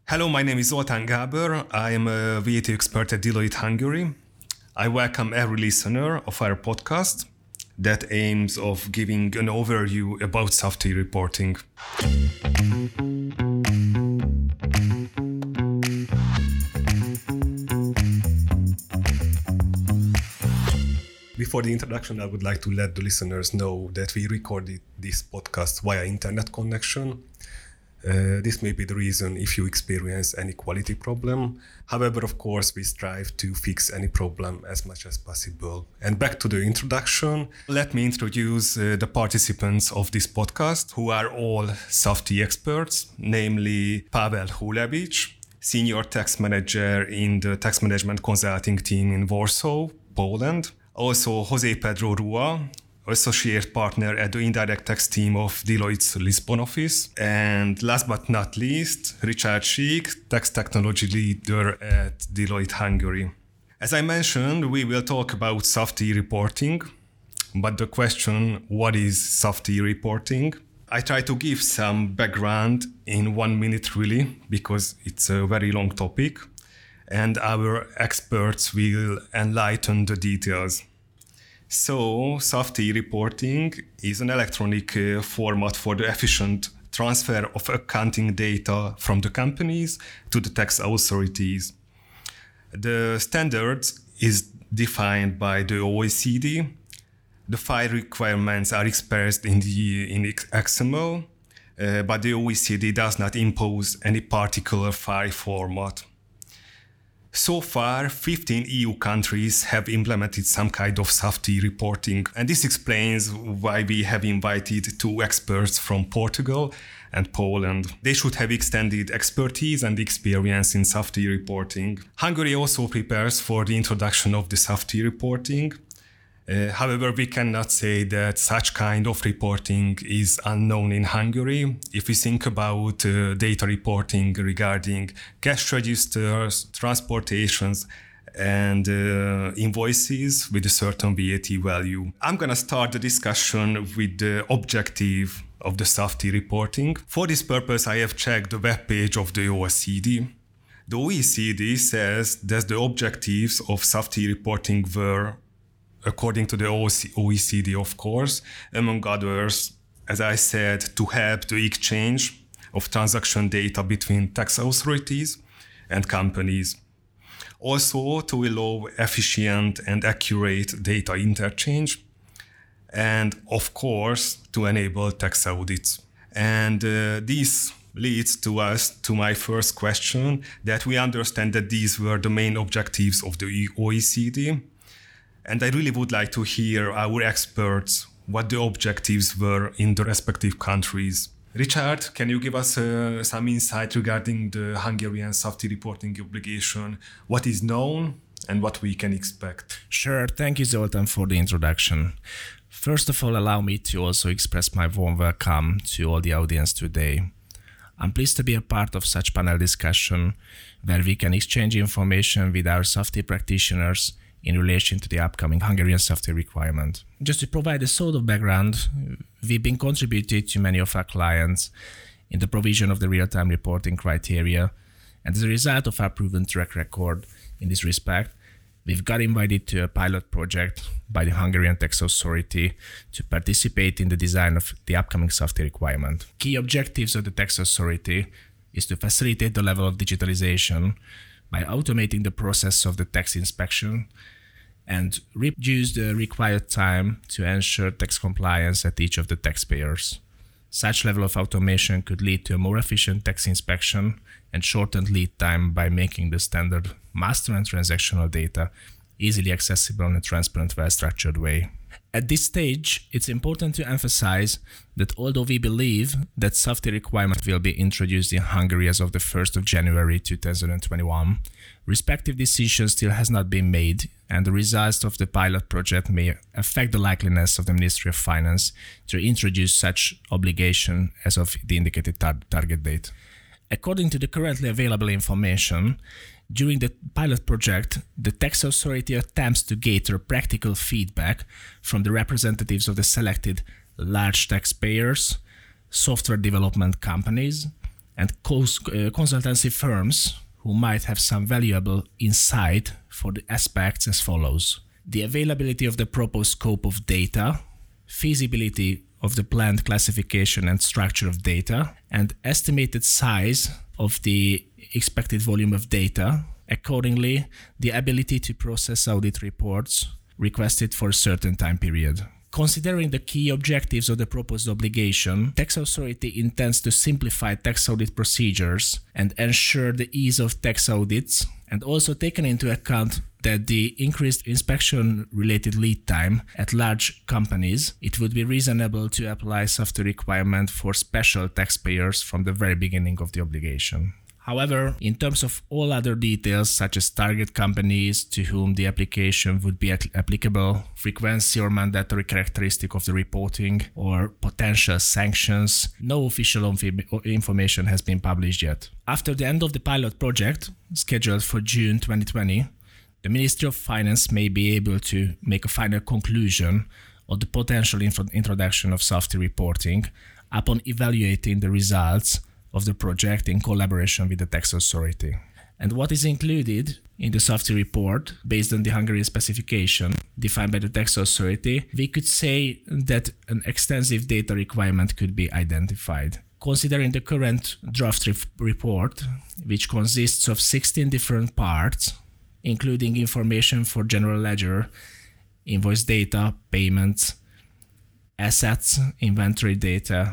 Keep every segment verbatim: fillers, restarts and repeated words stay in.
Hello, my name is Zoltán Gábor. I am a V A T expert at Deloitte Hungary. I welcome every listener of our podcast that aims of giving an overview about SAFTI reporting. Before the introduction, I would like to let the listeners know that we recorded this podcast via internet connection. Uh, this may be the reason if you experience any quality problem. However, of course, we strive to fix any problem as much as possible. And back to the introduction, let me introduce uh, the participants of this podcast, who are all SAFTI experts, namely Pavel Hulewicz, Senior Tax Manager in the Tax Management Consulting Team in Warsaw, Poland. Also, José Pedro Rua, Associate Partner at the Indirect Tax Team of Deloitte's Lisbon office. And last but not least, Richard Schick, Tax Technology Leader at Deloitte Hungary. As I mentioned, we will talk about SAFTI reporting, but the question, what is SAFTI reporting? I try to give some background in one minute really, because it's a very long topic, and our experts will enlighten the details. So, SAFTI reporting is an electronic uh, format for the efficient transfer of accounting data from the companies to the tax authorities. The standard is defined by the O E C D. The file requirements are expressed in the in X M L, uh, but the O E C D does not impose any particular file format. So far, fifteen E U countries have implemented some kind of SAFTI reporting, and this explains why we have invited two experts from Portugal and Poland. They should have extended expertise and experience in SAFTI reporting. Hungary also prepares for the introduction of the SAFTI reporting. Uh, however, we cannot say that such kind of reporting is unknown in Hungary. If we think about uh, data reporting regarding cash registers, transportations, and uh, invoices with a certain V A T value. I'm going to start the discussion with the objective of the SAFTI reporting. For this purpose, I have checked the webpage of the O E C D. The O E C D says that the objectives of SAFTI reporting were, according to the O E C D, of course, among others, as I said, to help the exchange of transaction data between tax authorities and companies. Also, to allow efficient and accurate data interchange, and of course, to enable tax audits. And uh, this leads to us to my first question, that we understand that these were the main objectives of the O E C D. And I really would like to hear our experts what the objectives were in the respective countries. Richard, can you give us uh, some insight regarding the Hungarian SAFTI reporting obligation? What is known and what we can expect? Sure. Thank you, Zoltán, for the introduction. First of all, allow me to also express my warm welcome to all the audience today. I'm pleased to be a part of such panel discussion where we can exchange information with our SAFTI practitioners in relation to the upcoming Hungarian SAFTI requirement. Just to provide a sort of background, we've been contributed to many of our clients in the provision of the real-time reporting criteria, and as a result of our proven track record in this respect, we've got invited to a pilot project by the Hungarian Tax Authority to participate in the design of the upcoming SAFTI requirement. Key objectives of the Tax Authority is to facilitate the level of digitalization by automating the process of the tax inspection and reduce the required time to ensure tax compliance at each of the taxpayers. Such level of automation could lead to a more efficient tax inspection and shortened lead time by making the standard master and transactional data easily accessible in a transparent, well-structured way. At this stage, it's important to emphasize that although we believe that SAFTI requirement will be introduced in Hungary as of the first of January two thousand twenty-one, respective decision still has not been made, and the results of the pilot project may affect the likeliness of the Ministry of Finance to introduce such obligation as of the indicated tar- target date. According to the currently available information, during the pilot project, the tax authority attempts to gather practical feedback from the representatives of the selected large taxpayers, software development companies, and cons- uh, consultancy firms who might have some valuable insight for the aspects as follows: the availability of the proposed scope of data, feasibility of the planned classification and structure of data, and estimated size of the expected volume of data. Accordingly, the ability to process audit reports requested for a certain time period. Considering the key objectives of the proposed obligation, tax authority intends to simplify tax audit procedures and ensure the ease of tax audits, and also taken into account that the increased inspection-related lead time at large companies, it would be reasonable to apply safety requirement for special taxpayers from the very beginning of the obligation. However, in terms of all other details, such as target companies to whom the application would be applicable, frequency or mandatory characteristic of the reporting, or potential sanctions, no official information has been published yet. After the end of the pilot project, scheduled for June twenty twenty, the Ministry of Finance may be able to make a final conclusion of the potential info- introduction of safety reporting upon evaluating the results of the project in collaboration with the tax authority. And what is included in the safety report, based on the Hungarian specification defined by the tax authority, we could say that an extensive data requirement could be identified. Considering the current draft re- report, which consists of sixteen different parts, including information for general ledger, invoice data, payments, assets, inventory data,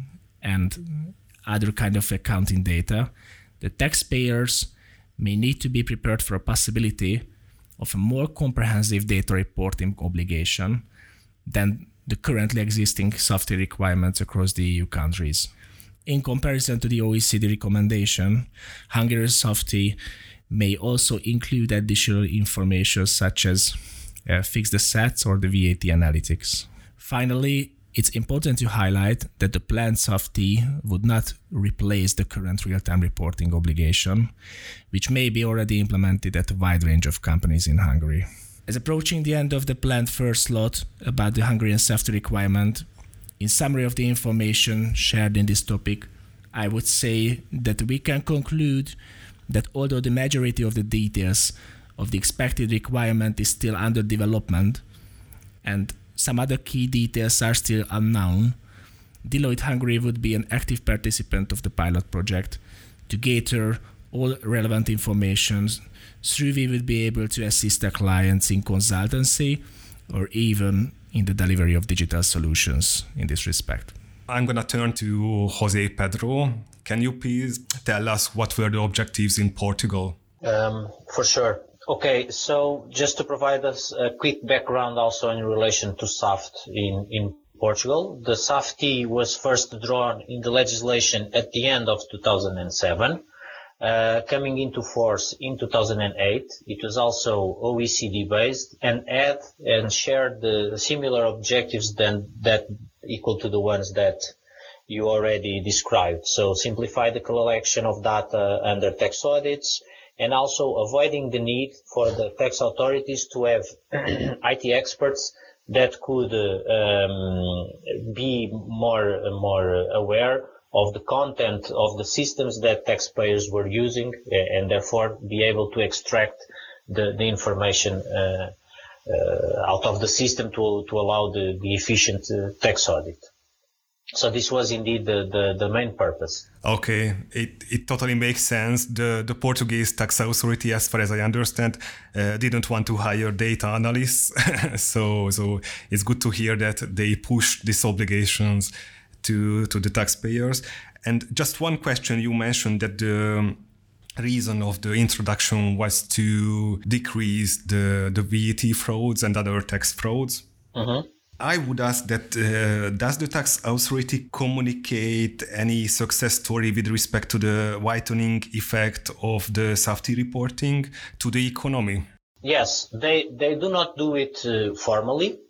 and other kind of accounting data, the taxpayers may need to be prepared for a possibility of a more comprehensive data reporting obligation than the currently existing safety requirements across the E U countries. In comparison to the O E C D recommendation, Hungary's safety may also include additional information such as uh, fixed assets or the V A T analytics. Finally, it's important to highlight that the planned safety would not replace the current real-time reporting obligation, which may be already implemented at a wide range of companies in Hungary. As approaching the end of the planned first slot about the Hungarian safety requirement, in summary of the information shared in this topic, I would say that we can conclude that although the majority of the details of the expected requirement is still under development and some other key details are still unknown, Deloitte Hungary would be an active participant of the pilot project to gather all relevant information. Through we would be able to assist our clients in consultancy or even in the delivery of digital solutions in this respect. I'm going to turn to José Pedro. Can you please tell us what were the objectives in Portugal? Um, for sure. Okay, so just to provide us a quick background also in relation to SAFT in, in Portugal. The SAFT was first drawn in the legislation at the end of two thousand seven, uh, coming into force in two thousand eight. It was also O E C D based and had and shared the similar objectives than that equal to the ones that you already described. So simplify the collection of data under tax audits, and also avoiding the need for the tax authorities to have I T experts that could uh, um, be more more aware of the content of the systems that taxpayers were using, and therefore be able to extract the, the information uh, uh, out of the system to, to allow the, the efficient uh, tax audit. So this was indeed the, the, the main purpose. Okay, it, it totally makes sense. The the Portuguese tax authority, as far as I understand, uh, didn't want to hire data analysts. so so it's good to hear that they pushed these obligations to, to the taxpayers. And just one question, you mentioned that the reason of the introduction was to decrease the, the V A T frauds and other tax frauds. Mm-hmm. I would ask that, uh, does the tax authority communicate any success story with respect to the whitening effect of the safety reporting to the economy? Yes, they, they do not do it uh, formally.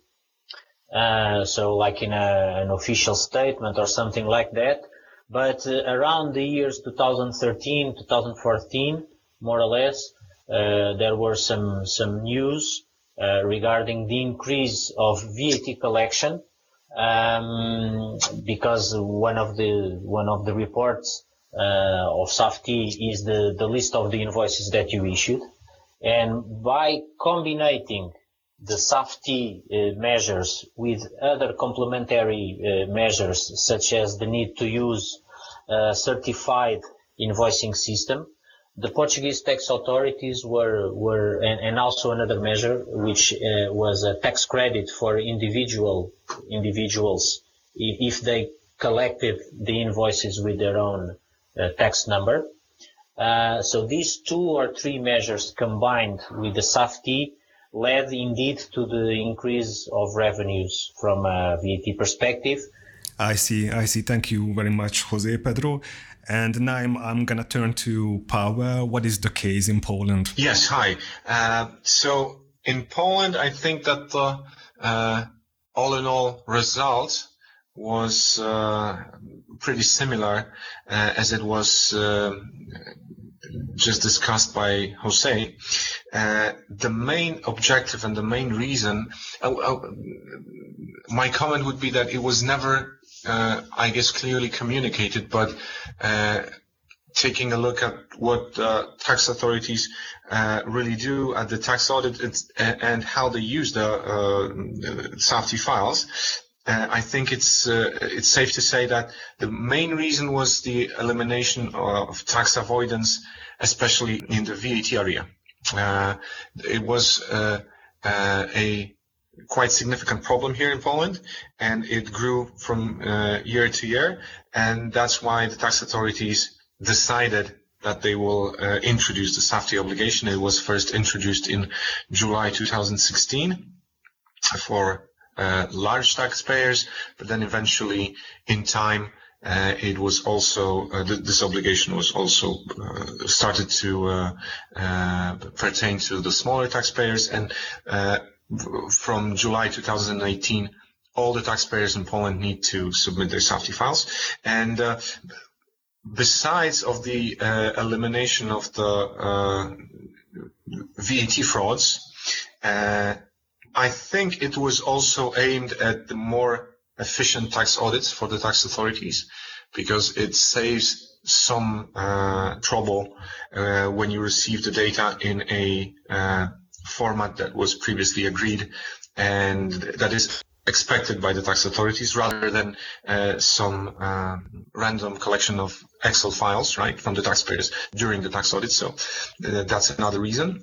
Uh, so like in a, an official statement or something like that. But uh, around the years two thousand thirteen, two thousand fourteen, more or less, uh, there were some, some news Uh, regarding the increase of V A T collection, um, because one of the one of the reports uh, of SAFTI is the, the list of the invoices that you issued. And by combining the SAFTI uh, measures with other complementary uh, measures, such as the need to use a certified invoicing system, the Portuguese tax authorities were, were and, and also another measure, which uh, was a tax credit for individual individuals if they collected the invoices with their own uh, tax number. Uh, so these two or three measures combined with the SAFTI led indeed to the increase of revenues from a V A T perspective. I see, I see. Thank you very much, Jose Pedro. And now I'm, I'm going to turn to Paweł. What is the case in Poland? Yes, hi. Uh, so in Poland, I think that the uh, all in all result was uh, pretty similar uh, as it was uh, just discussed by Jose. Uh, the main objective and the main reason, uh, uh, my comment would be that it was never, uh, I guess, clearly communicated, but uh, taking a look at what uh, tax authorities uh, really do at the tax audit it's, uh, and how they use the uh, SAFTI files, Uh, I think it's uh, it's safe to say that the main reason was the elimination of tax avoidance, especially in the V A T area. Uh, it was uh, uh, a quite significant problem here in Poland, and it grew from uh, year to year, and that's why the tax authorities decided that they will uh, introduce the SAFTI obligation. It was first introduced in July two thousand sixteen for Uh, large taxpayers, but then eventually in time uh, it was also uh, th- this obligation was also uh, started to uh, uh, pertain to the smaller taxpayers, and uh, from July two thousand eighteen all the taxpayers in Poland need to submit their SAFTI files. And uh, besides of the uh, elimination of the uh, V A T frauds, uh, I think it was also aimed at the more efficient tax audits for the tax authorities, because it saves some uh, trouble uh, when you receive the data in a uh, format that was previously agreed and that is expected by the tax authorities, rather than uh, some uh, random collection of Excel files, right, from the taxpayers during the tax audit. So uh, that's another reason.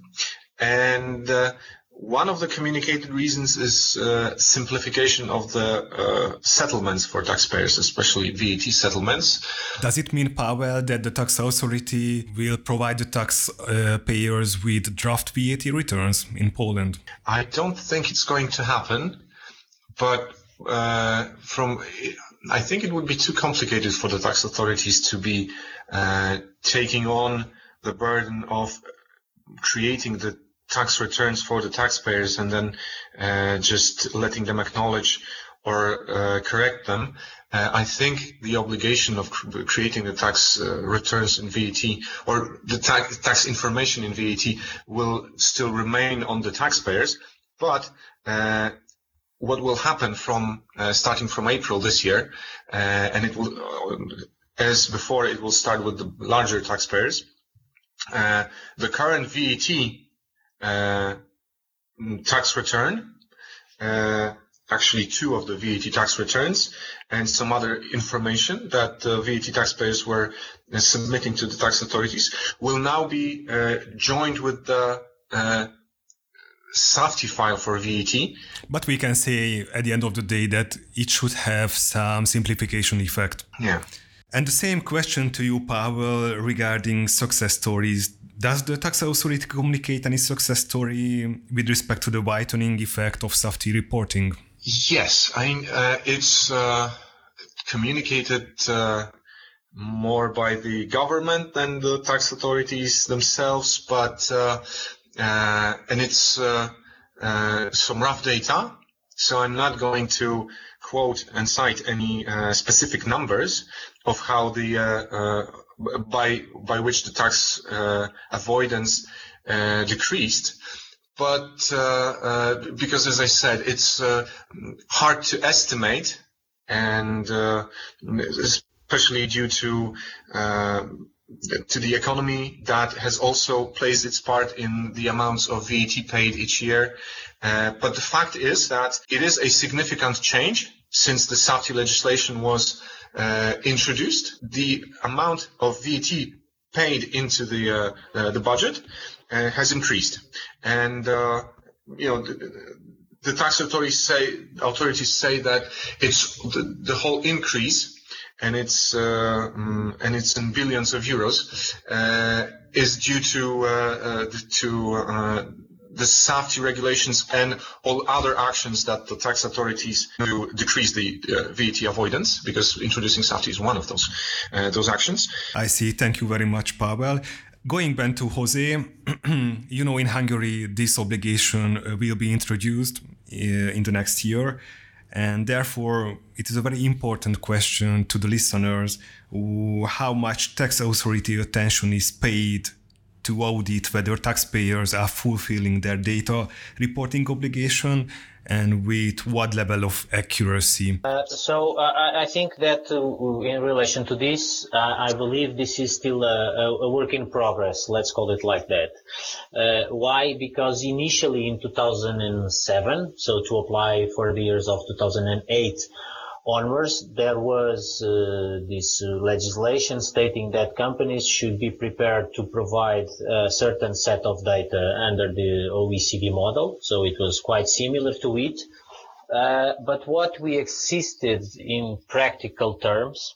And uh, one of the communicated reasons is uh, simplification of the uh, settlements for taxpayers, especially V A T settlements. Does it mean, Paweł, that the tax authority will provide the tax uh, payers with draft V A T returns in Poland? I don't think it's going to happen, but uh, from I think it would be too complicated for the tax authorities to be uh, taking on the burden of creating the tax returns for the taxpayers and then uh, just letting them acknowledge or uh, correct them. Uh, I think the obligation of cr- creating the tax uh, returns in V A T, or the tax, tax information in V A T, will still remain on the taxpayers. But uh, what will happen from uh, starting from April this year, uh, and it will, uh, as before, it will start with the larger taxpayers. Uh, the current V A T Uh, tax return, uh, actually two of the V A T tax returns, and some other information that the V A T taxpayers were uh, submitting to the tax authorities will now be uh, joined with the uh, SAFTI file for V A T. But we can say at the end of the day that it should have some simplification effect. Yeah. And the same question to you, Paweł, regarding success stories. Does the tax authority communicate any success story with respect to the whitening effect of SAFTI reporting? Yes, I mean, uh, it's uh, communicated uh, more by the government than the tax authorities themselves, but uh, uh, and it's uh, uh, some rough data. So I'm not going to quote and cite any uh, specific numbers of how the uh, uh, by by which the tax uh, avoidance uh, decreased, but uh, uh, because, as I said, it's uh, hard to estimate, and uh, especially due to uh, to the economy that has also plays its part in the amounts of V A T paid each year. Uh, but the fact is that it is a significant change since the SAFTI legislation was uh, introduced. The amount of V A T paid into the uh, uh, the budget uh, has increased, and uh, you know. The, the tax authorities say authorities say that it's the, the whole increase, and it's uh, um, and it's in billions of euros, uh, is due to uh, uh, to uh, the SAFTI regulations and all other actions that the tax authorities do to decrease the uh, V A T avoidance, because introducing SAFTI is one of those uh, those actions. I see. Thank you very much, Pavel. Going back to Jose, you know, in Hungary, this obligation will be introduced in the next year. And therefore, it is a very important question to the listeners how much tax authority attention is paid to audit whether taxpayers are fulfilling their data reporting obligation and with what level of accuracy. Uh, so uh, I think that uh, in relation to this, uh, I believe this is still a, a work in progress, let's call it like that. Uh, why? Because initially in two thousand seven, so to apply for the years of two thousand eight onwards, there was uh, this uh, legislation stating that companies should be prepared to provide a certain set of data under the O E C D model. So it was quite similar to it. Uh, but what we existed in practical terms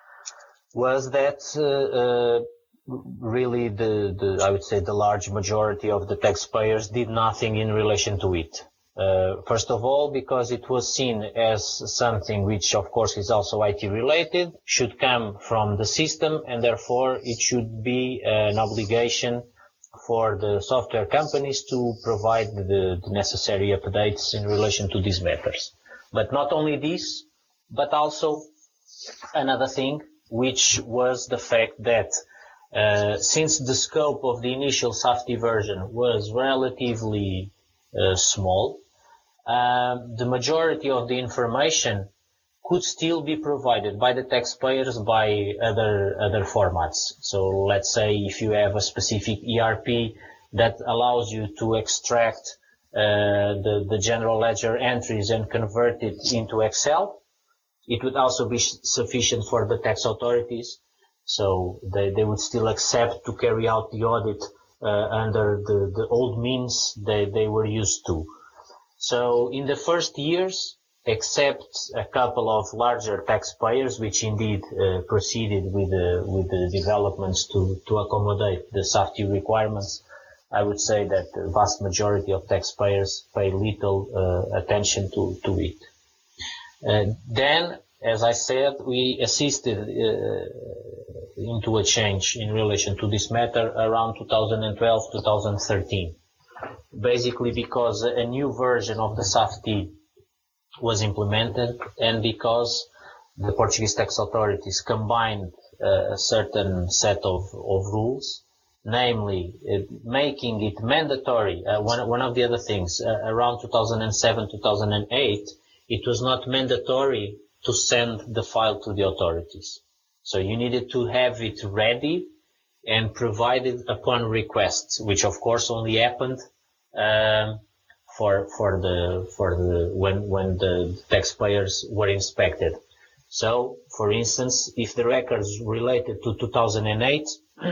was that uh, uh, really the, the, I would say the large majority of the taxpayers did nothing in relation to it. Uh, first of all, because it was seen as something which, of course, is also I T related, should come from the system, and therefore it should be an obligation for the software companies to provide the, the necessary updates in relation to these matters. But not only this, but also another thing, which was the fact that uh, since the scope of the initial SAFTI version was relatively uh, small, Uh, the majority of the information could still be provided by the taxpayers by other other formats. So let's say if you have a specific E R P that allows you to extract uh, the, the general ledger entries and convert it into Excel, it would also be sufficient for the tax authorities. So they, they would still accept to carry out the audit uh, under the, the old means they, they were used to. So in the first years, except a couple of larger taxpayers, which indeed uh, proceeded with the, with the developments to, to accommodate the SAFTI requirements, I would say that the vast majority of taxpayers pay little uh, attention to, to it. Uh, then, as I said, we assisted uh, into a change in relation to this matter around two thousand twelve, two thousand thirteen. Basically because a new version of the SAFTI was implemented and because the Portuguese tax authorities combined uh, a certain set of, of rules, namely uh, making it mandatory. Uh, one, one of the other things, uh, around two thousand seven, two thousand eight, it was not mandatory to send the file to the authorities. So you needed to have it ready and provided upon request, which of course only happened um, for for the for the when when the taxpayers were inspected. So, for instance, if the records related to two thousand eight,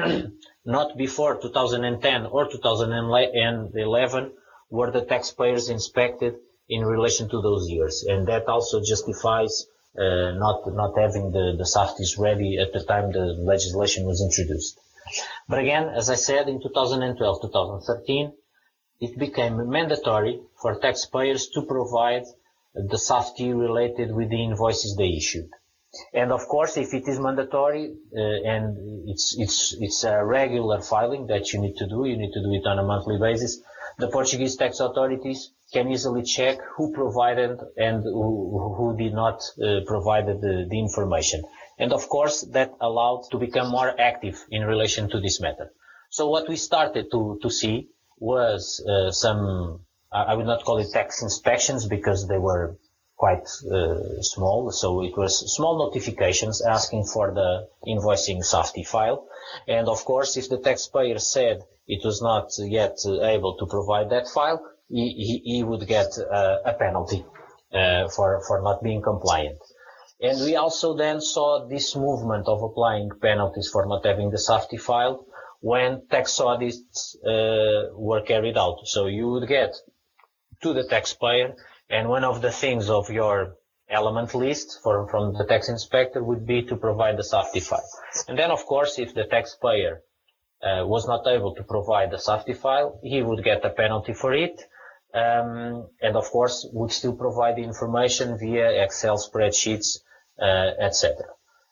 not before two thousand ten or two thousand eleven were the taxpayers inspected in relation to those years, and that also justifies uh, not not having the the SAFTIs ready at the time the legislation was introduced. But again, as I said, in two thousand twelve, two thousand thirteen, it became mandatory for taxpayers to provide the SAFTI related with the invoices they issued. And of course, if it is mandatory uh, and it's it's it's a regular filing that you need to do, you need to do it on a monthly basis, the Portuguese tax authorities can easily check who provided and who, who did not uh, provide the, the information. And of course, that allowed to become more active in relation to this matter. So what we started to, to see was uh, some, I would not call it tax inspections because they were quite uh, small. So it was small notifications asking for the invoicing Safety file. And of course, if the taxpayer said it was not yet able to provide that file, he, he, he would get uh, a penalty uh, for, for not being compliant. And we also then saw this movement of applying penalties for not having the Safety file when tax audits uh, were carried out. So you would get to the taxpayer, and one of the things of your element list for, from the tax inspector would be to provide the Safety file. And then, of course, if the taxpayer uh, was not able to provide the Safety file, he would get a penalty for it. Um, and of course, would still provide the information via Excel spreadsheets, uh, et cetera.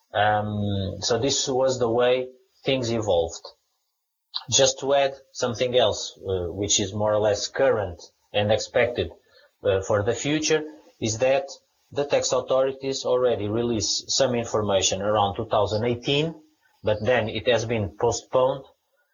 Um, so this was the way things evolved. Just to add something else, uh, which is more or less current and expected uh, for the future, is that the tax authorities already released some information around two thousand eighteen, but then it has been postponed,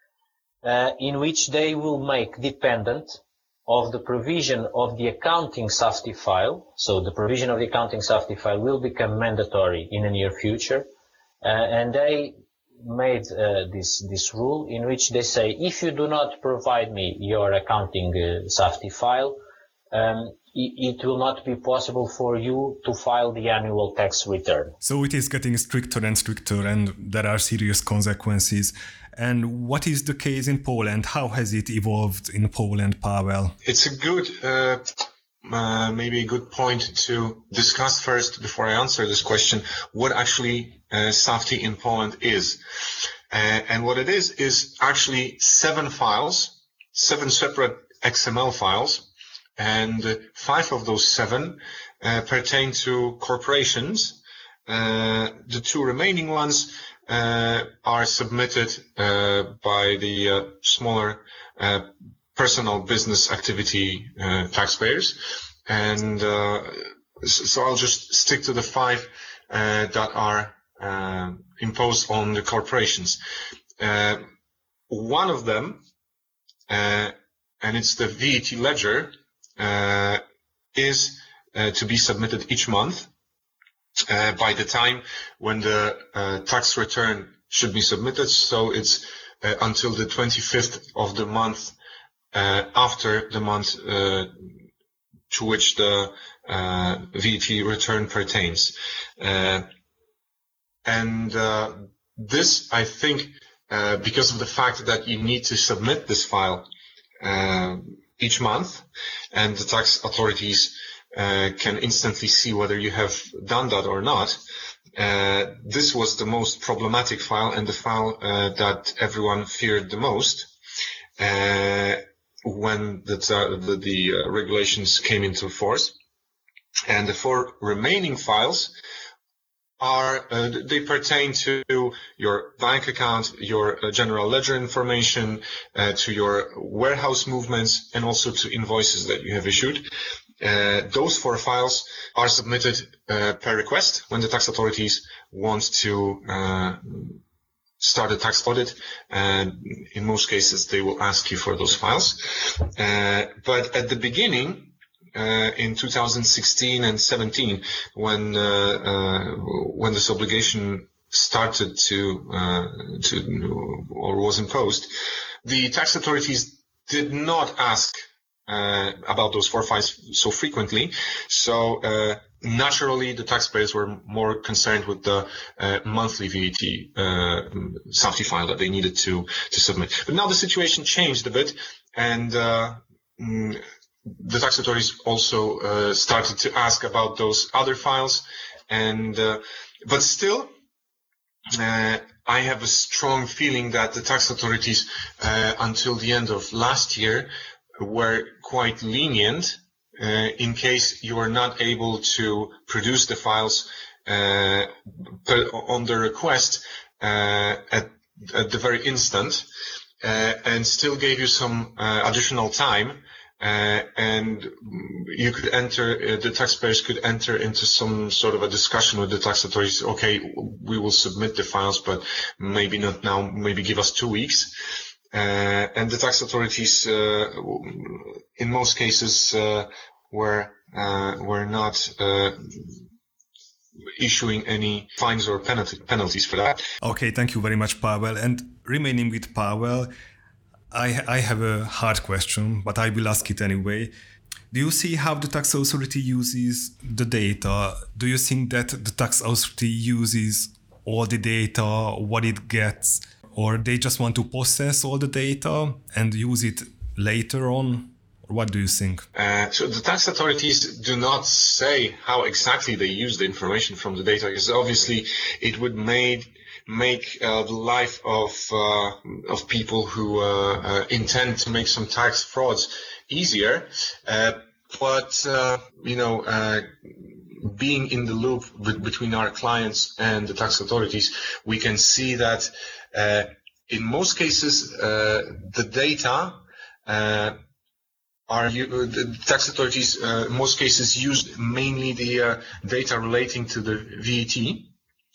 uh, in which they will make dependent of the provision of the accounting Safety file. So the provision of the accounting Safety file will become mandatory in the near future, uh, and they made uh, this this rule in which they say, if you do not provide me your accounting uh, Safety file, um, it, it will not be possible for you to file the annual tax return. So it is getting stricter and stricter, and there are serious consequences. And what is the case in Poland? How has it evolved in Poland, Pavel? It's a good, uh, uh, maybe a good point to discuss first before I answer this question, what actually uh, Safety in Poland is. Uh, and what it is, is actually seven files, seven separate X M L files, and uh, five of those seven uh, pertain to corporations. Uh, the two remaining ones uh, are submitted uh, by the uh, smaller uh, personal business activity uh, taxpayers. And uh, so I'll just stick to the five uh, that are uh, imposed on the corporations. Uh, one of them, uh, and it's the V A T ledger, uh, is uh, to be submitted each month. Uh, by the time when the uh, tax return should be submitted, so it's uh, until the twenty-fifth of the month uh, after the month uh, to which the uh, V A T return pertains. Uh, and uh, this, I think, uh, because of the fact that you need to submit this file uh, each month, and the tax authorities Uh, can instantly see whether you have done that or not. Uh, this was the most problematic file and the file uh, that everyone feared the most uh, when the, the, the uh, regulations came into force. And the four remaining files are, uh, they pertain to your bank account, your uh, general ledger information, uh, to your warehouse movements, and also to invoices that you have issued. Uh, those four files are submitted uh, per request when the tax authorities want to uh, start a tax audit, and in most cases they will ask you for those files. Uh, but at the beginning, uh, in two thousand sixteen and seventeen, when uh, uh, when this obligation started to uh, to or was imposed, the tax authorities did not ask Uh, about those four files so frequently. So uh, naturally, the taxpayers were more concerned with the uh, monthly V A T uh, Safety file that they needed to to submit. But now the situation changed a bit, and uh, the tax authorities also uh, started to ask about those other files. And uh, but still, uh, I have a strong feeling that the tax authorities, uh, until the end of last year, were quite lenient uh, in case you were not able to produce the files uh, on the request uh, at, at the very instant, uh, and still gave you some uh, additional time, uh, and you could enter, uh, the taxpayers could enter into some sort of a discussion with the tax authorities. Okay, we will submit the files, but maybe not now, maybe give us two weeks. Uh, and the tax authorities, uh, in most cases, uh, were uh, were not uh, issuing any fines or penalty, penalties for that. Okay, thank you very much, Pavel. And remaining with Pavel, I, I have a hard question, but I will ask it anyway. Do you see how the tax authority uses the data? Do you think that the tax authority uses all the data, what it gets, or they just want to process all the data and use it later on? Or what do you think? Uh, so the tax authorities do not say how exactly they use the information from the data, because obviously it would made, make uh, the life of uh, of people who uh, uh, intend to make some tax frauds easier. Uh, but, uh, you know, uh, being in the loop with, between our clients and the tax authorities, we can see that uh, in most cases, uh, the data uh, are the tax authorities uh, in most cases use mainly the uh, data relating to the V A T,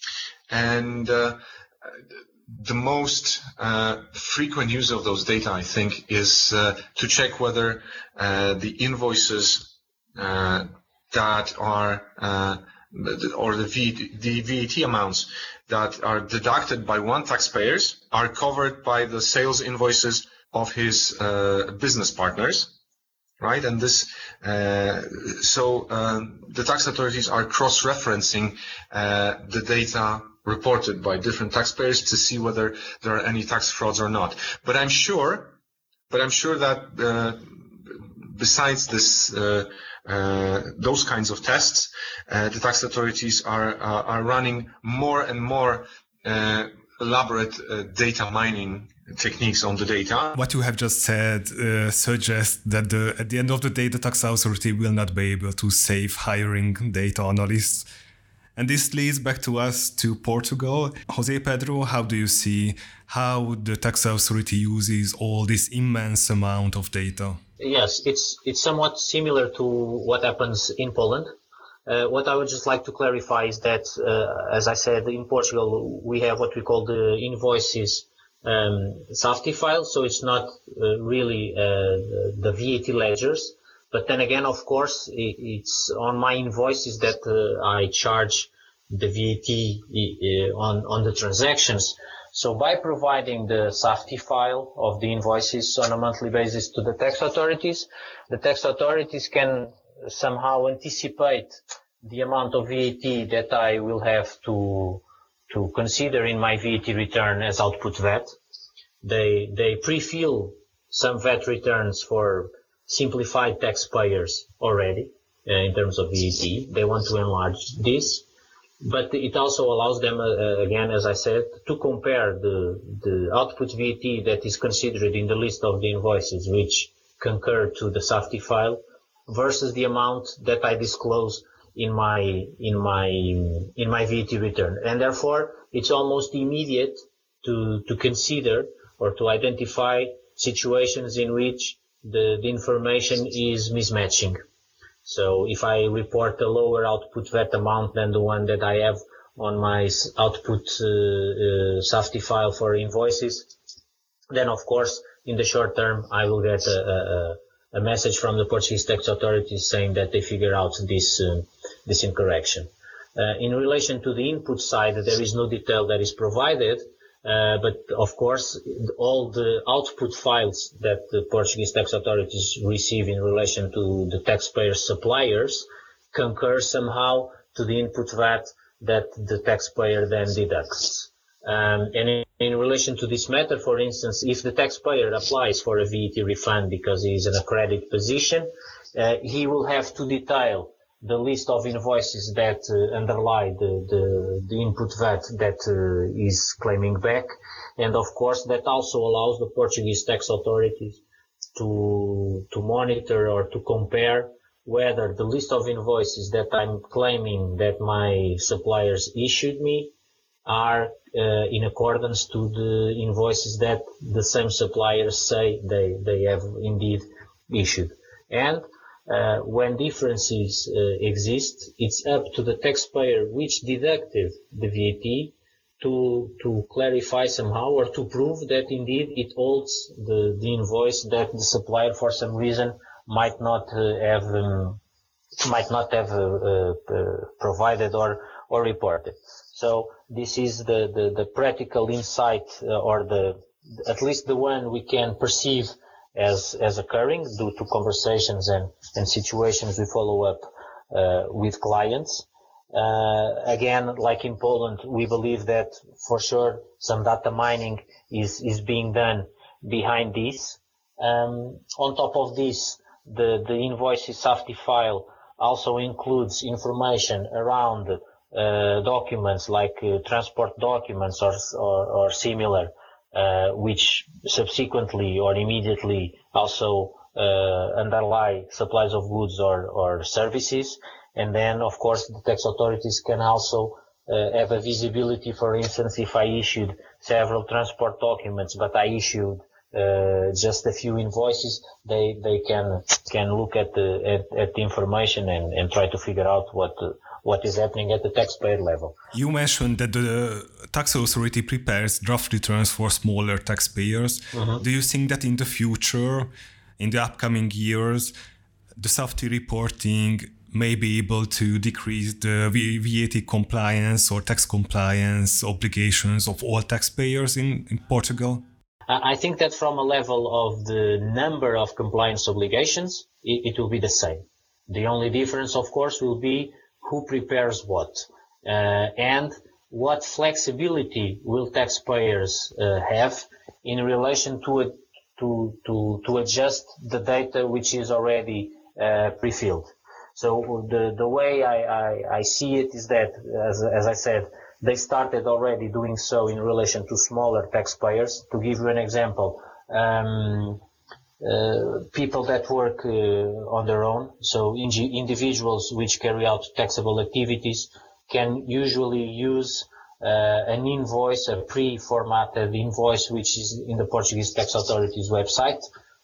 and uh, the most uh, frequent use of those data, I think, is uh, to check whether uh, the invoices uh, that are uh, or the, v, the V A T amounts that are deducted by one taxpayer are covered by the sales invoices of his uh, business partners. Right, and this, uh, so uh, the tax authorities are cross-referencing uh, the data reported by different taxpayers to see whether there are any tax frauds or not. But I'm sure, but I'm sure that uh, besides this, uh, uh, those kinds of tests, uh, the tax authorities are uh, are running more and more uh, elaborate uh, data mining techniques on the data. What you have just said uh, suggests that the, at the end of the day, the tax authority will not be able to save hiring data analysts. And this leads back to us to Portugal. José Pedro, how do you see how the tax authority uses all this immense amount of data? Yes, it's it's somewhat similar to what happens in Poland. Uh, what I would just like to clarify is that, uh, as I said, in Portugal, we have what we call the invoices um, SAFTI file, so it's not uh, really uh, the V A T ledgers. But then again, of course, it, it's on my invoices that uh, I charge the V A T uh, on, on the transactions. So by providing the SAFTI file of the invoices on a monthly basis to the tax authorities, the tax authorities can somehow anticipate the amount of V A T that I will have to to consider in my V A T return as output V A T. They they pre-fill some V A T returns for simplified taxpayers already uh, in terms of V A T. They want to enlarge this, but it also allows them, uh, again, as I said, to compare the the output V A T that is considered in the list of the invoices which concur to the SAFTI file versus the amount that I disclose in my in my in my V A T return, and therefore it's almost immediate to to consider or to identify situations in which the, the information is mismatching. So if I report a lower output V A T amount than the one that I have on my output uh, uh, SAFTI file for invoices, then of course in the short term I will get a, a a message from the Portuguese tax authorities saying that they figure out this uh, this incorrection. Uh, in relation to the input side, there is no detail that is provided, uh, but of course all the output files that the Portuguese tax authorities receive in relation to the taxpayer suppliers concur somehow to the input V A T that the taxpayer then deducts. Um, and in, in relation to this matter, for instance, if the taxpayer applies for a V A T refund because he is in a credit position, uh, he will have to detail the list of invoices that uh, underlie the, the, the input V A T that uh, is claiming back. And of course, that also allows the Portuguese tax authorities to, to monitor or to compare whether the list of invoices that I'm claiming that my suppliers issued me are uh, in accordance to the invoices that the same suppliers say they, they have indeed issued. And uh, when differences uh, exist, it's up to the taxpayer which deducted the V A T to to clarify somehow or to prove that indeed it holds the, the invoice that the supplier for some reason might not uh, have um, might not have uh, uh, provided or or reported. So this is the, the, the practical insight uh, or the at least the one we can perceive as as occurring due to conversations and, and situations we follow up uh, with clients. Uh, again, like in Poland, we believe that for sure some data mining is, is being done behind this. Um, on top of this, the, the invoices safety file also includes information around uh, documents like uh, transport documents or, or, or similar, uh, which subsequently or immediately also uh, underlie supplies of goods or, or services. And then, of course, the tax authorities can also uh, have a visibility. For instance, if I issued several transport documents, but I issued uh, just a few invoices, they they can can look at the at, at the information and, and try to figure out what uh, what is happening at the taxpayer level. You mentioned that the tax authority prepares draft returns for smaller taxpayers. Mm-hmm. Do you think that in the future, in the upcoming years, the safety reporting may be able to decrease the V A T compliance or tax compliance obligations of all taxpayers in, in Portugal? I think that from a level of the number of compliance obligations, it, it will be the same. The only difference, of course, will be who prepares what uh, and what flexibility will taxpayers uh, have in relation to it, to, to, to adjust the data which is already uh, pre-filled. So the, the way I, I, I see it is that, as, as I said, they started already doing so in relation to smaller taxpayers. To give you an example, um, uh, people that work uh, on their own, so in- individuals which carry out taxable activities, can usually use uh, an invoice, a pre-formatted invoice, which is in the Portuguese Tax Authority's website,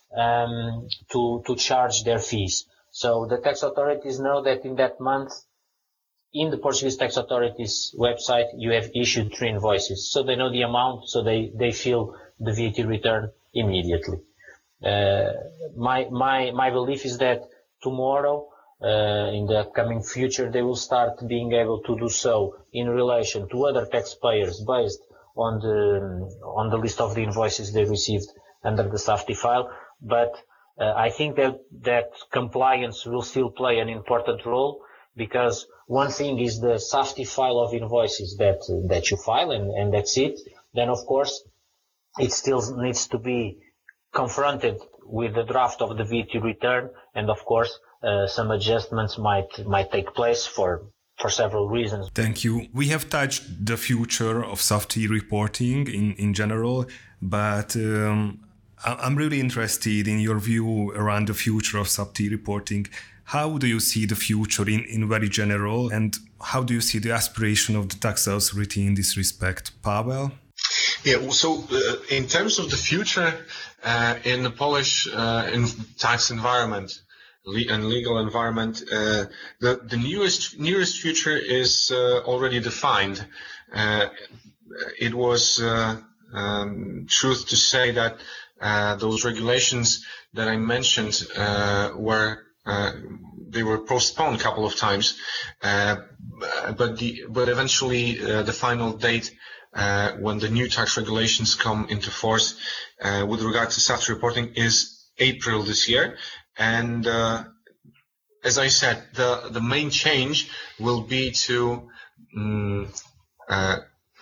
um, to, to charge their fees. So the tax authorities know that in that month, in the Portuguese Tax Authority's website, you have issued three invoices. So they know the amount, so they, they fill the V A T return immediately. Uh, my, my, my belief is that tomorrow, uh, in the upcoming future, they will start being able to do so in relation to other taxpayers based on the, on the list of the invoices they received under the safety file. But Uh, I think that, that compliance will still play an important role, because one thing is the safety file of invoices that uh, that you file, and, and that's it. Then, of course, it still needs to be confronted with the draft of the V A T return, and of course, uh, some adjustments might might take place for for several reasons. Thank you. We have touched the future of safety reporting in, in general, but um, I'm really interested in your view around the future of safety reporting. How do you see the future in, in very general, and how do you see the aspiration of the tax authority in this respect? Pavel? Yeah, so uh, in terms of the future uh, in the Polish uh, in tax environment le- and legal environment, uh, the, the newest, nearest future is uh, already defined. Uh, it was uh, um, truth to say that Uh, those regulations that I mentioned uh, were uh, they were postponed a couple of times, uh, but the but eventually uh, the final date uh, when the new tax regulations come into force uh, with regard to safety reporting is April this year, and uh, as I said, the the main change will be to um, uh,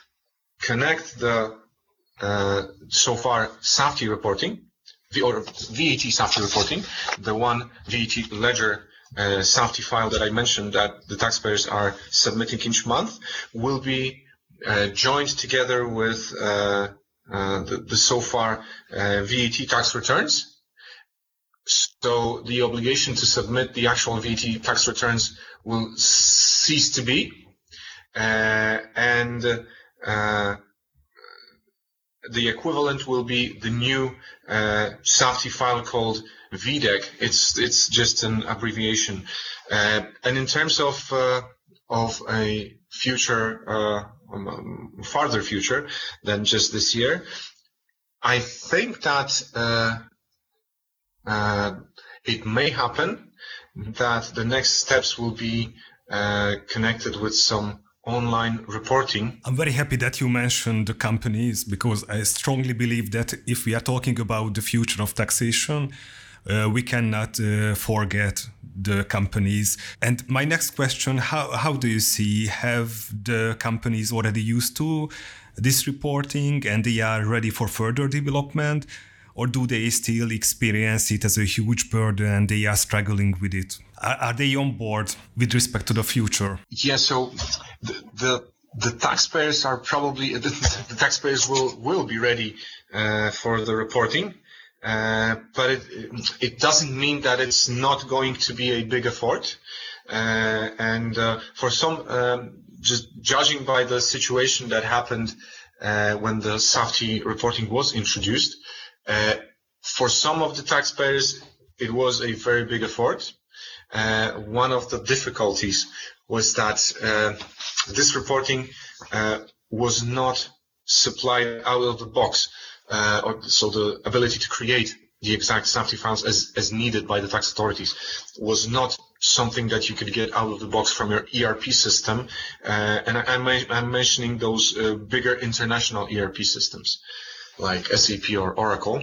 connect the Uh, so far safety reporting, or V A T safety reporting, the one V A T ledger uh, safety file that I mentioned that the taxpayers are submitting each month, will be uh, joined together with uh, uh, the, the so far uh, V A T tax returns. So the obligation to submit the actual V A T tax returns will cease to be, uh, and uh, the equivalent will be the new uh, safety file called V D E C. It's it's just an abbreviation. Uh, and in terms of uh, of a future, uh, um, farther future than just this year, I think that uh, uh, it may happen that the next steps will be uh, connected with some online reporting. I'm very happy that you mentioned the companies, because I strongly believe that if we are talking about the future of taxation, uh, we cannot uh, forget the companies. And my next question, how, how do you see, have the companies already used to this reporting and they are ready for further development? Or do they still experience it as a huge burden and they are struggling with it? Are, are they on board with respect to the future? Yeah, so the the, the taxpayers are probably, the, the taxpayers will, will be ready uh, for the reporting, uh, but it, it doesn't mean that it's not going to be a big effort. Uh, and uh, for some, um, just judging by the situation that happened uh, when the SAFTI reporting was introduced, Uh, for some of the taxpayers, it was a very big effort. Uh, one of the difficulties was that uh, this reporting uh, was not supplied out of the box, uh, or, so the ability to create the exact SAFTI files as, as needed by the tax authorities was not something that you could get out of the box from your E R P system. Uh, and I, I'm, I'm mentioning those uh, bigger international E R P systems, like S A P or Oracle.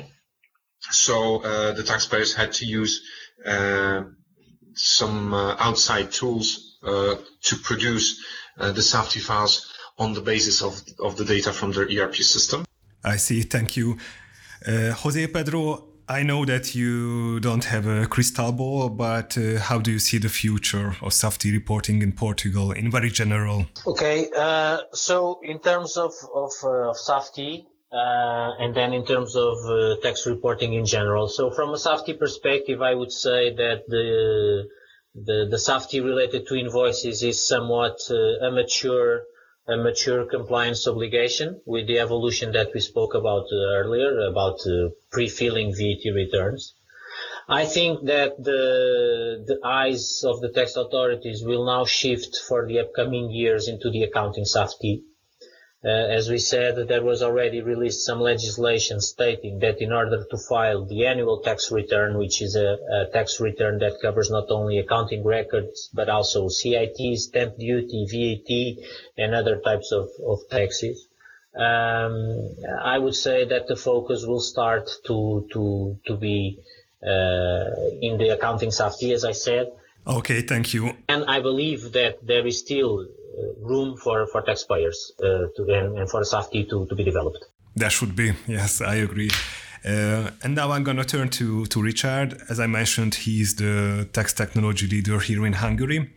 So uh, the taxpayers had to use uh, some uh, outside tools uh, to produce uh, the SAFTI files on the basis of, of the data from their E R P system. I see, thank you. Uh, Jose Pedro, I know that you don't have a crystal ball, but uh, how do you see the future of SAFTI reporting in Portugal in very general? Okay, uh, so in terms of, of, uh, of SAFTI, Uh, and then in terms of uh, tax reporting in general. So from a SAFTI perspective, I would say that the the, the SAFTI related to invoices is somewhat uh, a mature a mature compliance obligation with the evolution that we spoke about uh, earlier about uh, pre-filling V A T returns. I think that the the eyes of the tax authorities will now shift for the upcoming years into the accounting SAFTI. Uh, as we said, there was already released some legislation stating that in order to file the annual tax return, which is a, a tax return that covers not only accounting records, but also C I T, stamp duty, V A T, and other types of, of taxes, um, I would say that the focus will start to, to, to be uh, in the accounting SAFTI, as I said. Okay, thank you. And I believe that there is still room for, for taxpayers uh, to, and, and for SAFTI to, to be developed. There should be, yes, I agree. Uh, and now I'm going to turn to, to Richard. As I mentioned, he's the tax technology leader here in Hungary.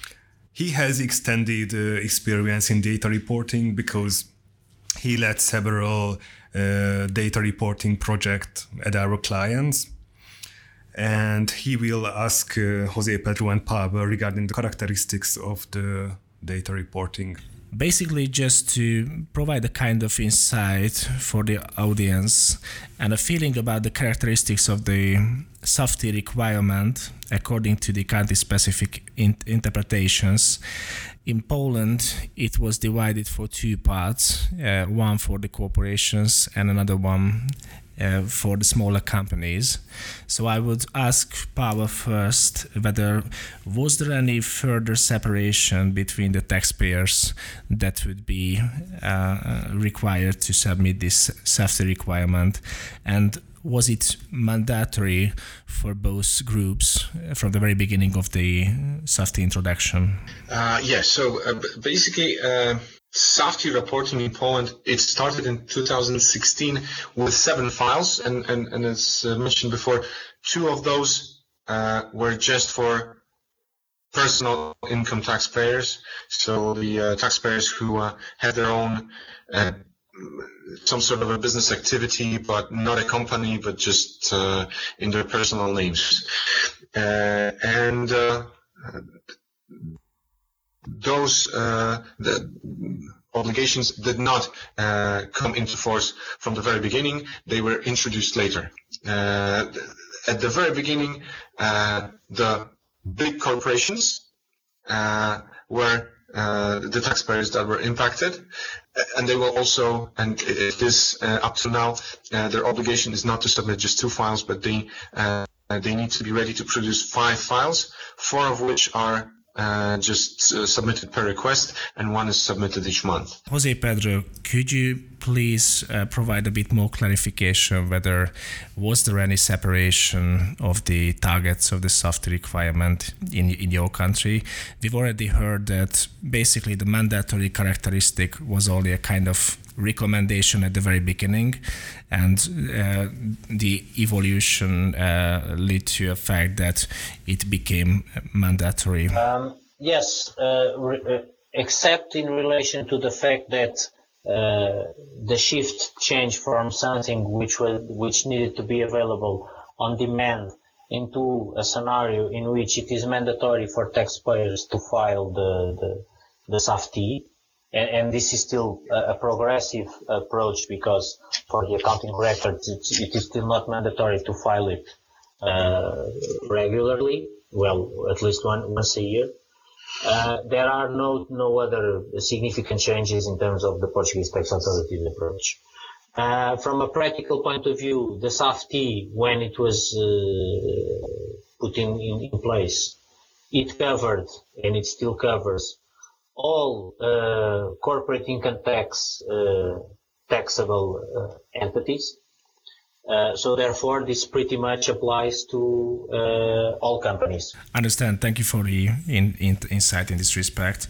He has extended uh, experience in data reporting because he led several uh, data reporting projects at our clients. And he will ask uh, Jose Pedro and Pavel regarding the characteristics of the data reporting. Basically, just to provide a kind of insight for the audience and a feeling about the characteristics of the SAFTI requirement according to the country-specific in- interpretations. In Poland, it was divided for two parts, uh, one for the corporations and another one Uh, for the smaller companies. So I would ask Pavel first whether was there any further separation between the taxpayers that would be uh, required to submit this SAFTI requirement, and was it mandatory for both groups from the very beginning of the SAFTI introduction? Uh, yes, yeah, so uh, basically uh SAFTI reporting in Poland, it started in two thousand sixteen with seven files, and, and, and as mentioned before, two of those uh, were just for personal income taxpayers, so the uh, taxpayers who uh, had their own, uh, some sort of a business activity, but not a company, but just uh, in their personal names. Uh, and uh, Those uh, the obligations did not uh, come into force from the very beginning. They were introduced later. Uh, at the very beginning, uh, the big corporations uh, were uh, the taxpayers that were impacted, and they will also, and it is uh, up to now, uh, their obligation is not to submit just two files, but they uh, they need to be ready to produce five files, four of which are uh, just uh, submitted per request, and one is submitted each month. Jose Pedro, could you please uh, provide a bit more clarification whether was there any separation of the targets of the SAFTI requirement in, in your country? We've already heard that basically the mandatory characteristic was only a kind of recommendation at the very beginning, and uh, the evolution uh, led to a fact that it became mandatory. Um, yes, uh, re- uh, except in relation to the fact that uh, the shift changed from something which was which needed to be available on demand into a scenario in which it is mandatory for taxpayers to file the the, the SAFTI. And, and this is still a, a progressive approach, because for the accounting records, it's, it is still not mandatory to file it uh, regularly, well, at least one, once a year. Uh, there are no no other significant changes in terms of the Portuguese tax authority's approach. Uh, from a practical point of view, the SAFTI, when it was uh, put in, in, in place, it covered, and it still covers, all uh, corporate income tax uh, taxable uh, entities. Uh, so therefore, this pretty much applies to uh, all companies. Understand. Thank you for the in, in, insight in this respect.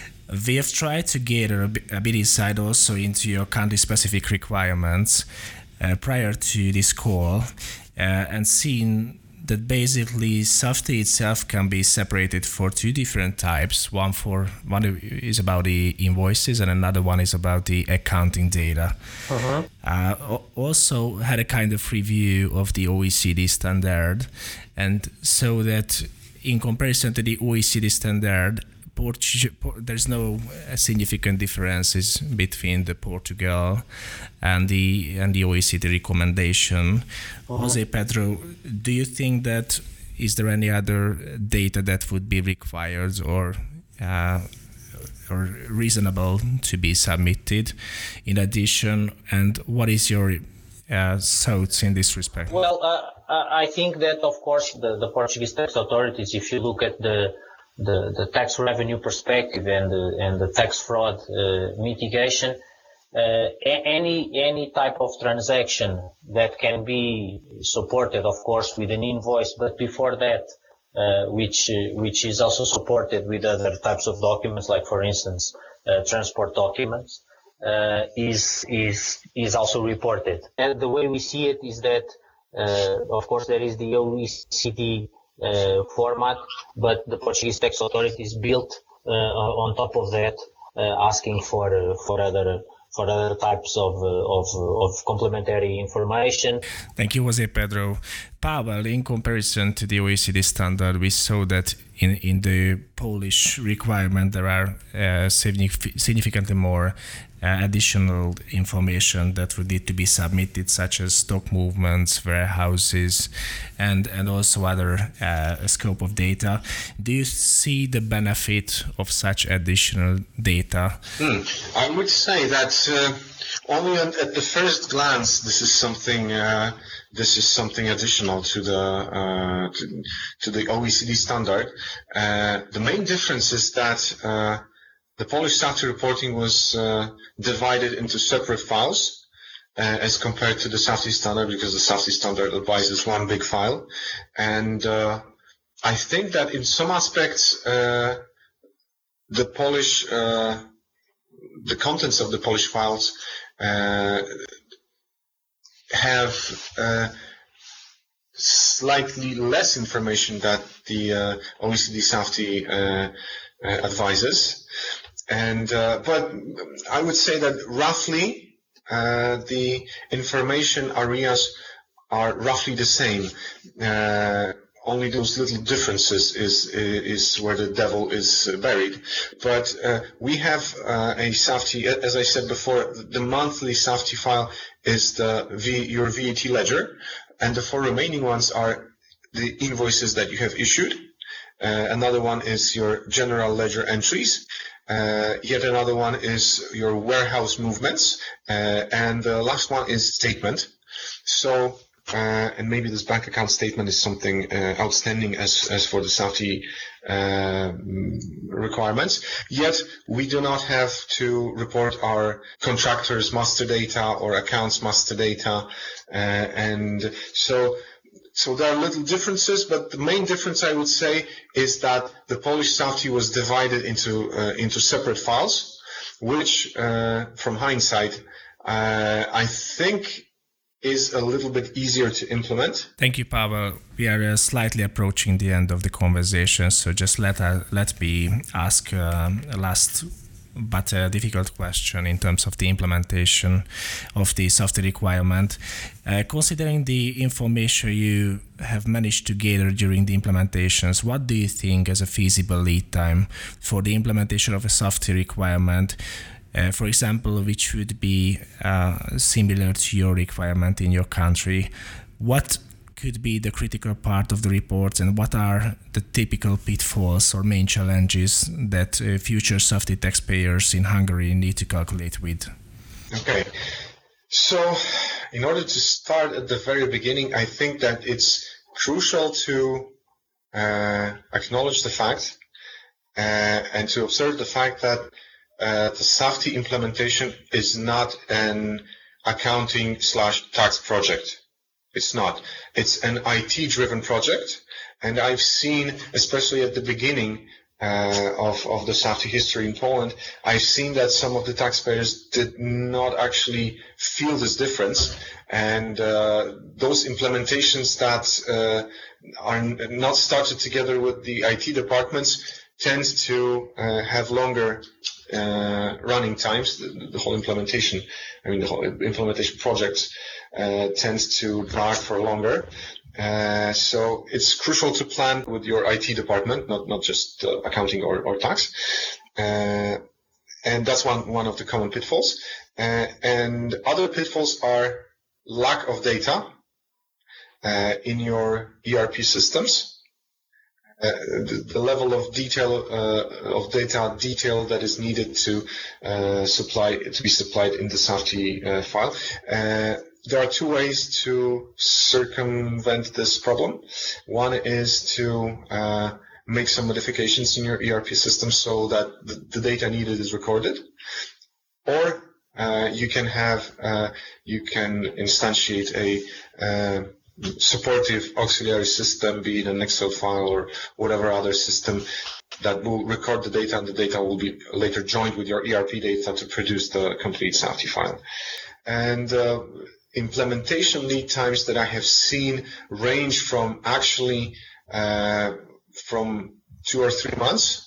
We have tried to gather a bit, a bit insight also into your country-specific requirements uh, prior to this call, uh, and seen that basically SAFTI itself can be separated for two different types. One for one is about the invoices, and another one is about the accounting data. Uh-huh. Uh, also had a kind of review of the O E C D standard, and so that in comparison to the O E C D standard, Portu- there's no significant differences between the Portugal and the and the O E C D recommendation. Uh-huh. Jose Pedro, do you think that is there any other data that would be required or uh, or reasonable to be submitted in addition? And what is your uh, thoughts in this respect? Well, uh, I think that of course the, the Portuguese tax authorities, if you look at the The, the tax revenue perspective and the, and the tax fraud uh, mitigation, uh, any any type of transaction that can be supported, of course, with an invoice, but before that, uh, which uh, which is also supported with other types of documents, like for instance, uh, transport documents, uh, is is is also reported. And the way we see it is that, uh, of course, there is the O E C D Uh, format, but the Portuguese tax authorities built uh, on top of that, uh, asking for uh, for other for other types of uh, of of complementary information. Thank you, Jose Pedro. Pavel, in comparison to the O E C D standard, we saw that in in the Polish requirement there are uh, significantly more Uh, additional information that would need to be submitted, such as stock movements, warehouses, and, and also other uh, scope of data. Do you see the benefit of such additional data? Hmm. I would say that uh, only at the first glance, this is something uh, this is something additional to the uh, to, to the O E C D standard. Uh, the main difference is that uh, the Polish SAFTI reporting was uh, divided into separate files uh, as compared to the SAFTI standard, because the SAFTI standard advises one big file. And uh, I think that in some aspects, uh, the Polish, uh, the contents of the Polish files uh, have uh, slightly less information that the uh, O E C D SAFTI uh, uh, advises. And uh, but I would say that roughly uh, the information areas are roughly the same. Uh, only those little differences is is where the devil is buried. But uh, we have uh, a SAFTI, as I said before, the monthly SAFTI file is the v, your V A T ledger, and the four remaining ones are the invoices that you have issued. Uh, another one is your general ledger entries. Uh, yet another one is your warehouse movements, uh, and the last one is statement. So uh, and maybe this bank account statement is something uh, outstanding as, as for the Safety uh, requirements. Yet we do not have to report our contractors' master data or accounts master data, uh, and so so there are little differences. But the main difference, I would say, is that the Polish Safety was divided into uh, into separate files, which, uh, from hindsight, uh, I think is a little bit easier to implement. Thank you, Pavel. We are uh, slightly approaching the end of the conversation, so just let uh, let me ask uh, a last but a difficult question in terms of the implementation of the Safety requirement. Uh, considering the information you have managed to gather during the implementations, what do you think is a feasible lead time for the implementation of a Safety requirement? Uh, for example, which would be uh, similar to your requirement in your country. What could be the critical part of the reports, and what are the typical pitfalls or main challenges that uh, future Safety taxpayers in Hungary need to calculate with? Okay, so in order to start at the very beginning, I think that it's crucial to uh, acknowledge the fact uh, and to observe the fact that Uh, the Safety implementation is not an accounting slash tax project. It's not. It's an I T-driven project, and I've seen, especially at the beginning uh, of, of the Safety history in Poland, I've seen that some of the taxpayers did not actually feel this difference, and uh, those implementations that uh, are not started together with the I T departments tend to uh, have longer Uh, running times. The, the whole implementation, I mean, the whole implementation project uh, tends to drag for longer. Uh, so it's crucial to plan with your I T department, not not just uh, accounting or, or tax. Uh, and that's one one of the common pitfalls. Uh, and other pitfalls are lack of data uh, in your E R P systems. Uh, the, the level of detail uh, of data detail that is needed to uh, supply to be supplied in the Safety uh, file. Uh, there are two ways to circumvent this problem. One is to uh, make some modifications in your E R P system so that the, the data needed is recorded, or uh, you can have uh, you can instantiate a uh, supportive auxiliary system, be it an Excel file or whatever other system that will record the data, and the data will be later joined with your E R P data to produce the complete Safety file. And uh, implementation lead times that I have seen range from actually uh, from two or three months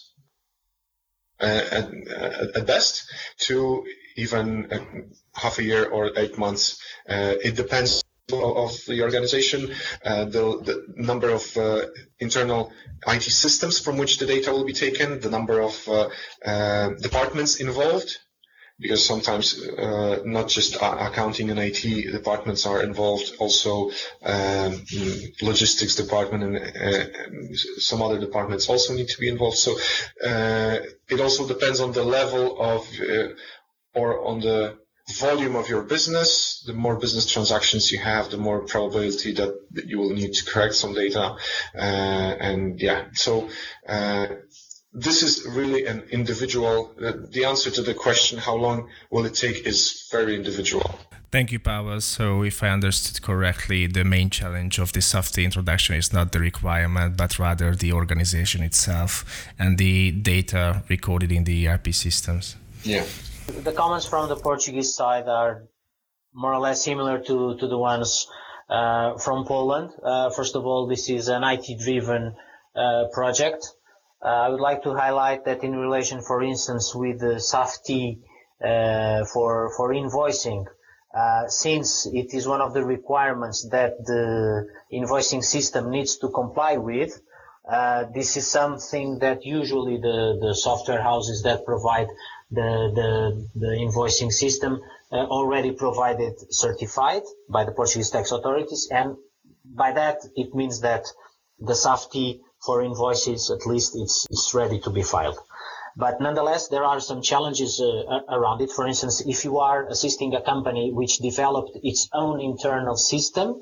uh, at, at best to even uh, half a year or eight months. Uh, it depends of the organization, uh, the, the number of uh, internal I T systems from which the data will be taken, the number of uh, uh, departments involved, because sometimes uh, not just accounting and I T departments are involved, also um, logistics department and uh, some other departments also need to be involved. So uh, it also depends on the level of uh, or on the volume of your business. The more business transactions you have, the more probability that, that you will need to correct some data. Uh, and yeah, so uh, this is really an individual, uh, the answer to the question, how long will it take, is very individual. Thank you, Pavel. So if I understood correctly, the main challenge of the Safety introduction is not the requirement, but rather the organization itself and the data recorded in the E R P systems. Yeah. The comments from the Portuguese side are more or less similar to, to the ones uh, from Poland. Uh, first of all, this is an I T-driven uh, project. Uh, I would like to highlight that in relation, for instance, with the Safety uh, for, for invoicing, uh, since it is one of the requirements that the invoicing system needs to comply with, uh, this is something that usually the, the software houses that provide The, the, the invoicing system uh, already provided certified by the Portuguese tax authorities, and by that it means that the Safety for invoices, at least it's, it's ready to be filed. But nonetheless, there are some challenges uh, around it. For instance, if you are assisting a company which developed its own internal system,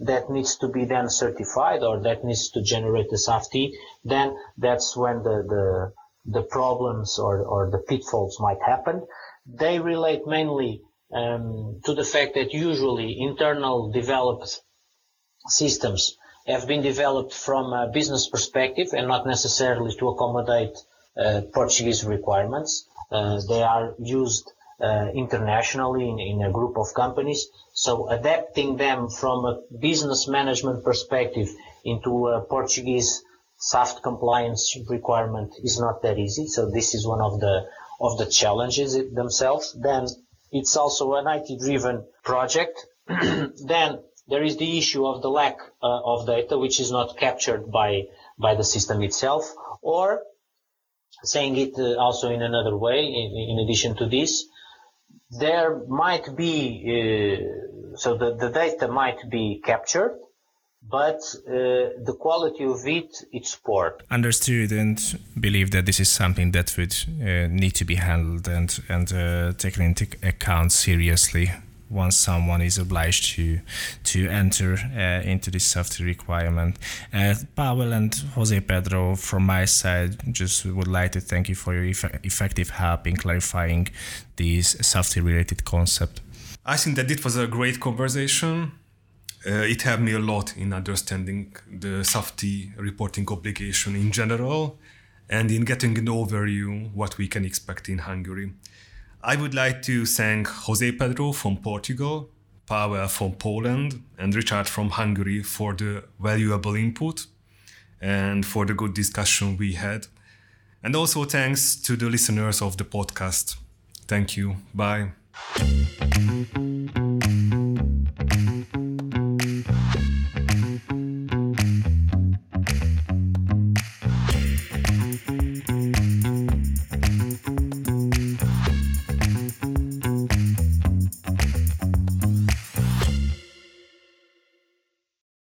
that needs to be then certified or that needs to generate the SAFTI, then that's when the, the, the problems or, or the pitfalls might happen. They relate mainly um, to the fact that usually internal developed systems have been developed from a business perspective and not necessarily to accommodate uh, Portuguese requirements. Uh, they are used uh, internationally in, in a group of companies. So adapting them from a business management perspective into a Portuguese SAFT compliance requirement is not that easy. So this is one of the of the challenges themselves. Then it's also an I T-driven project. Then there is the issue of the lack uh, of data, which is not captured by by the system itself. Or saying it uh, also in another way, in, in addition to this, there might be uh, so the, the data might be captured, but uh, the quality of it, it's poor. Understood, and believe that this is something that would uh, need to be handled and, and uh, taken into account seriously once someone is obliged to to enter uh, into this SAFTI requirement. Uh, Pavel and Jose Pedro, from my side, just would like to thank you for your eff- effective help in clarifying this SAFTI-related concept. I think that it was a great conversation. Uh, it helped me a lot in understanding the SAFTI reporting obligation in general and in getting an overview what we can expect in Hungary. I would like to thank Jose Pedro from Portugal, Pavel from Poland, and Richard from Hungary for the valuable input and for the good discussion we had. And also thanks to the listeners of the podcast. Thank you. Bye.